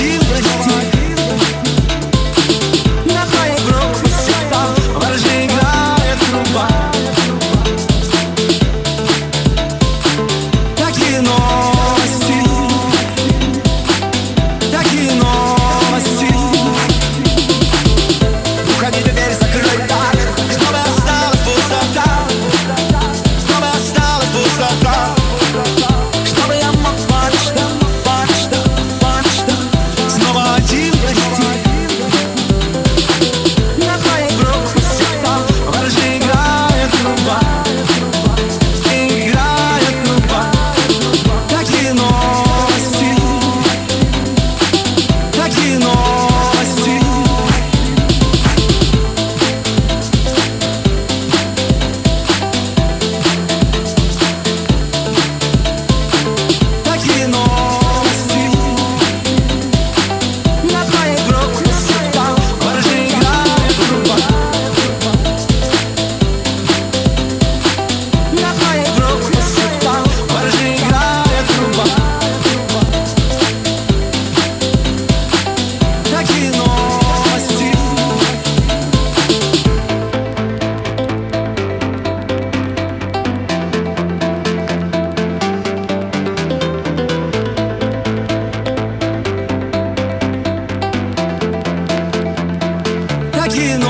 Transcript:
один прости. На твоей группе всегда ворожей играет труба. Такие новости, такие новости. Уходи, дверь закрой так, чтобы осталась пустота, чтобы осталась пустота, чтобы я мог снова один прости. На твоей группе всегда ворожей играет труба, играет труба. Такие новости, такие новости. Такие новости. На твоей группе всегда ворожей играет труба. На твоей группе всегда ворожей играет труба. Такие новости. Такие